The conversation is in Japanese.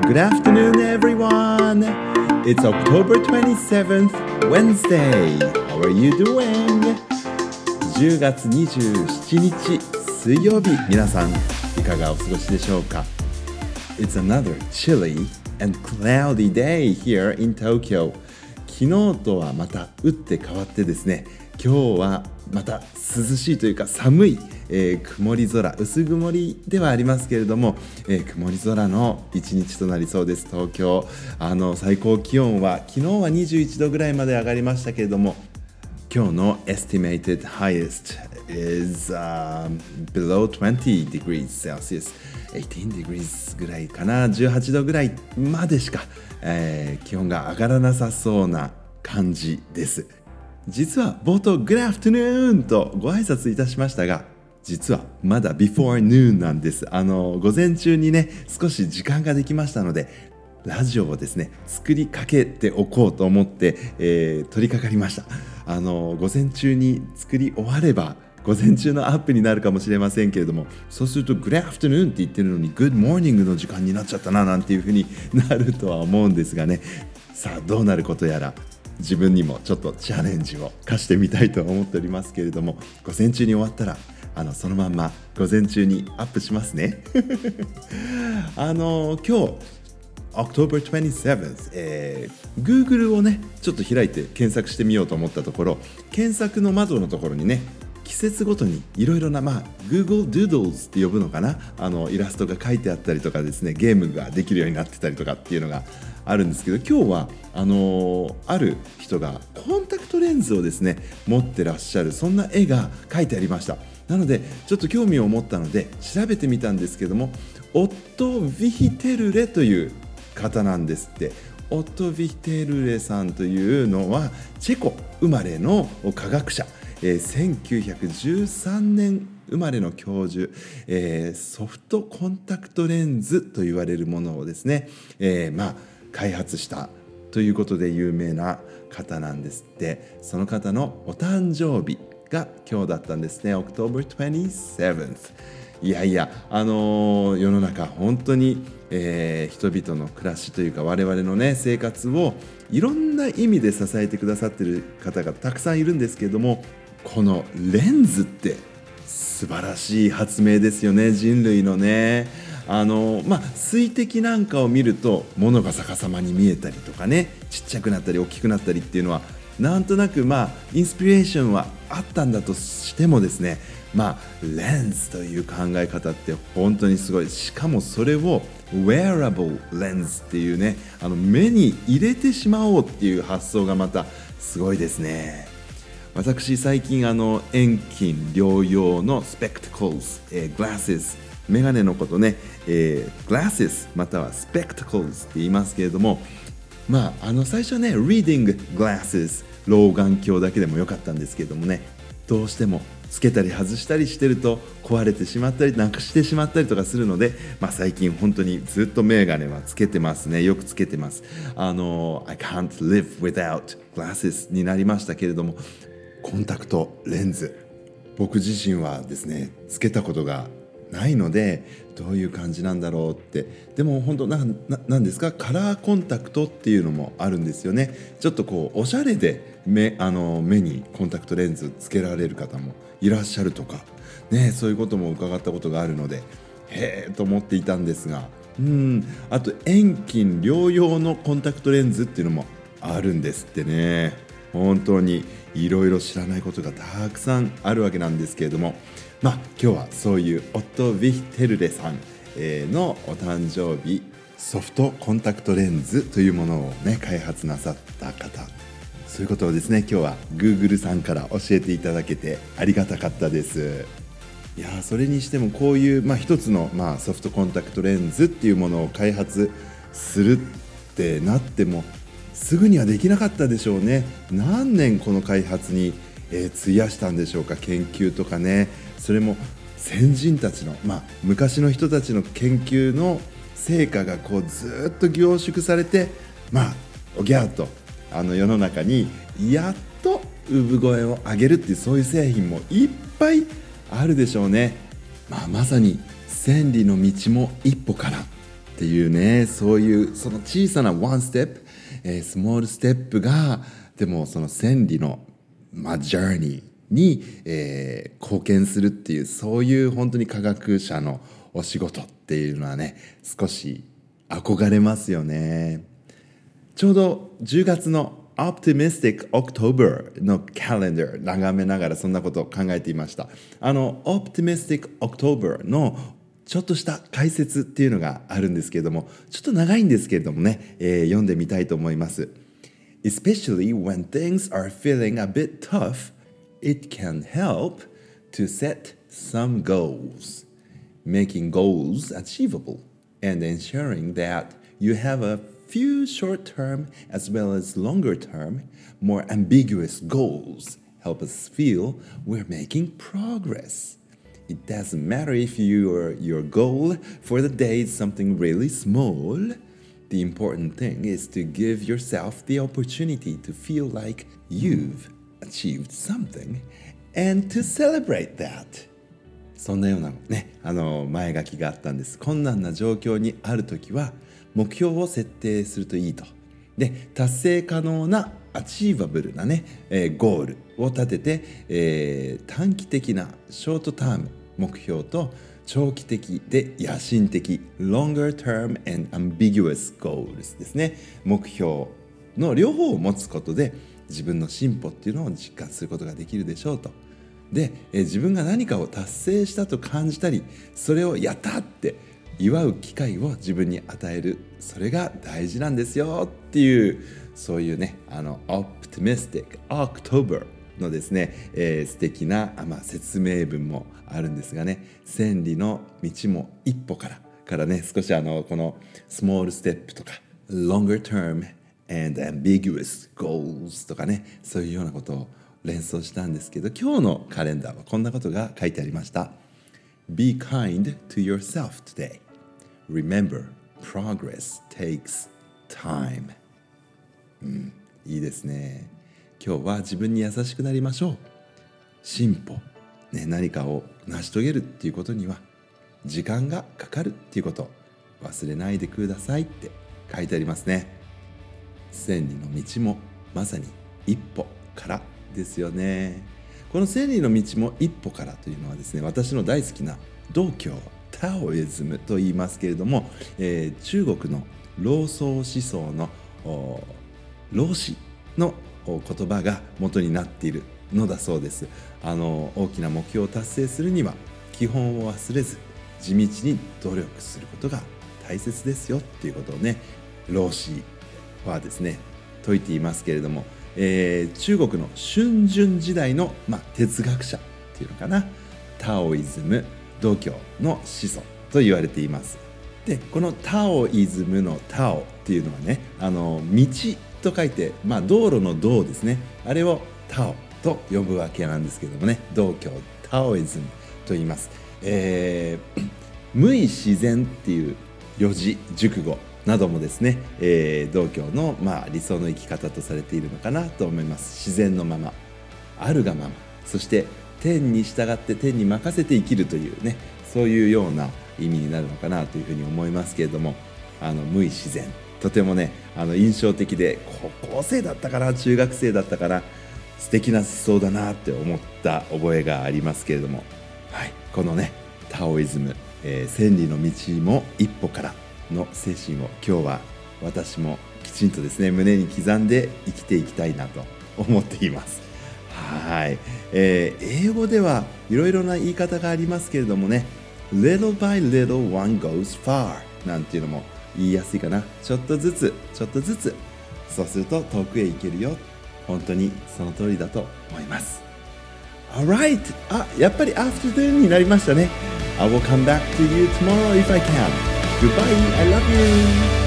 Good afternoon, everyone. It's October 27th, Wednesday. How are you doing? 10月27日水曜日、皆さんいかがお過ごしでしょうか？ It's another chilly and cloudy day here in Tokyo. 昨日とはまた打って変わってですね、今日はまた涼しいというか寒い、曇り空、薄曇りではありますけれども、曇り空の一日となりそうです。東京、最高気温は昨日は21度ぐらいまで上がりましたけれども、今日の estimated highest is、below 20 degrees Celsius 18 degrees ぐらいかな、18度ぐらいまでしか、気温が上がらなさそうな感じです。実は冒頭 Good afternoon とご挨拶いたしましたが、実はまだ before noon なんです。午前中にね少し時間ができましたので、ラジオをですね作りかけておこうと思って、取り掛かりました。午前中に作り終われば午前中のアップになるかもしれませんけれども、そうすると Good afternoon って言ってるのに Good morning の時間になっちゃったななんていう風になるとは思うんですがね。さあどうなることやら、自分にもちょっとチャレンジを課してみたいと思っておりますけれども、午前中に終わったらそのまんま午前中にアップしますね。今日October 27th、Google をねちょっと開いて検索してみようと思ったところ、検索の窓のところにね季節ごとにいろいろな、Google Doodles って呼ぶのかな、イラストが書いてあったりとかですね、ゲームができるようになってたりとかっていうのがあるんですけど、今日はある人がコンタクトレンズをですね持ってらっしゃる、そんな絵が書いてありました。なのでちょっと興味を持ったので調べてみたんですけども、オット・ヴィヒテルレという方なんですって。オット・ヴィヒテルレさんというのはチェコ生まれの科学者、1913年生まれの教授、ソフトコンタクトレンズと言われるものをですね、開発したということで有名な方なんですって。その方のお誕生日が今日だったんですね。 October 27th。 いやいや、世の中本当に、人々の暮らしというか我々のね生活をいろんな意味で支えてくださっている方がたくさんいるんですけれども、このレンズって素晴らしい発明ですよね、人類のね。水滴なんかを見ると物が逆さまに見えたりとかね、ちっちゃくなったり大きくなったりっていうのはなんとなくインスピレーションはあったんだとしてもですね、レンズという考え方って本当にすごい。しかもそれを wearable lens っていうね、目に入れてしまおうっていう発想がまたすごいですね。私最近遠近両用のスペクタクルズ、グラスメガネのことね、グラスまたはスペクタクルズって言いますけれども、最初はね Reading Glasses 老眼鏡だけでもよかったんですけれどもね、どうしてもつけたり外したりしてると壊れてしまったりなくしてしまったりとかするので、最近本当にずっとメガネはつけてますね。よくつけてます。I can't live without glasses になりましたけれども、コンタクトレンズ、僕自身はですねつけたことがないのでどういう感じなんだろうって。でも本当なんですか、カラーコンタクトっていうのもあるんですよね。ちょっとおしゃれで目にコンタクトレンズつけられる方もいらっしゃるとかね、そういうことも伺ったことがあるのでへーと思っていたんですが、あと遠近両用のコンタクトレンズっていうのもあるんですってね。本当にいろいろ知らないことがたくさんあるわけなんですけれども、今日はそういうオット・ヴィヒテルレさんのお誕生日、ソフトコンタクトレンズというものをね開発なさった方、そういうことをですね今日は Google さんから教えていただけてありがたかったです。いやそれにしてもこういう、一つの、ソフトコンタクトレンズっていうものを開発するってなってもすぐにはできなかったでしょうね。何年この開発に、費やしたんでしょうか。研究とかね、それも先人たちの、昔の人たちの研究の成果がずっと凝縮されて、おぎゃーっと世の中にやっと産声を上げるっていう、そういう製品もいっぱいあるでしょうね。まさに千里の道も一歩からっていうね、そういうその小さなワンステップ、スモールステップがでもその千里の、ジャーニーに、貢献するっていう、そういう本当に科学者のお仕事っていうのはね、少し憧れますよね。ちょうど10月のOptimistic October のカレンダー眺めながらそんなことを考えていました。Optimistic October のちょっとした解説っていうのがあるんですけれども、ちょっと長いんですけれどもね、読んでみたいと思います。Especially when things are feeling a bit tough, it can help to set some goals, making goals achievable, and ensuring that you have a few short-term as well as longer-term, more ambiguous goals help us feel we're making progress. It doesn't matter if your goal for the day is something really small. The important thing is to give yourself the opportunity to feel like you've achieved something and to celebrate that. そんなようなね、前書きがあったんです。困難な状況にあるときは目標を設定するといいと。で、達成可能なアチーバブルなね、ゴールを立てて、短期的なショートターム目標と長期的で野心的 longer term and ambiguous goals ですね。目標の両方を持つことで自分の進歩っていうのを実感することができるでしょうと。で、自分が何かを達成したと感じたり、それをやったって祝う機会を自分に与える、それが大事なんですよっていう、そういうね、Optimistic October のですね、素敵な、説明文もあるんですがね、千里の道も一歩からね、少しこのスモールステップとか longer term and ambiguous goals とかね、そういうようなことを連想したんですけど、今日のカレンダーはこんなことが書いてありました。Be kind to yourself today. Remember, progress takes time. いいですね。今日は自分に優しくなりましょう。進歩、ね、何かを成し遂げるっていうことには時間がかかるっていうこと忘れないでくださいって書いてありますね。千里の道もまさに一歩からですよね。この千里の道も一歩からというのはですね、私の大好きな道教タオイズムと言いますけれども、中国の老荘思想の老子の言葉が元になっているのだそうです。大きな目標を達成するには基本を忘れず地道に努力することが大切ですよっていうことをね、老子はですね説いていますけれども、中国の春秋時代の、哲学者っていうのかな、タオイズム、道教の始祖と言われています。で、このタオイズムのタオっていうのはね、道と書いて、道路の道ですね、あれをタオと呼ぶわけなんですけどもね、道教タオイズムと言います。無為自然っていう四字熟語などもですね、道教の、理想の生き方とされているのかなと思います。自然のまま、あるがまま、そして天に従って天に任せて生きるというね、そういうような意味になるのかなというふうに思いますけれども、無為自然、とてもね印象的で、高校生だったかな、中学生だったかな、素敵な思想だなって思った覚えがありますけれども、はい、このねタオイズム、千里の道も一歩からの精神を今日は私もきちんとですね胸に刻んで生きていきたいなと思っています。はい、英語ではいろいろな言い方がありますけれどもね、 Little by little one goes far なんていうのも言いやすいかな。ちょっとずつちょっとずつ、そうすると遠くへ行けるよ。本当にその通りだと思います。 Alright、 やっぱり afternoon になりましたね。I will come back to you tomorrow if I can. Goodbye, I love you.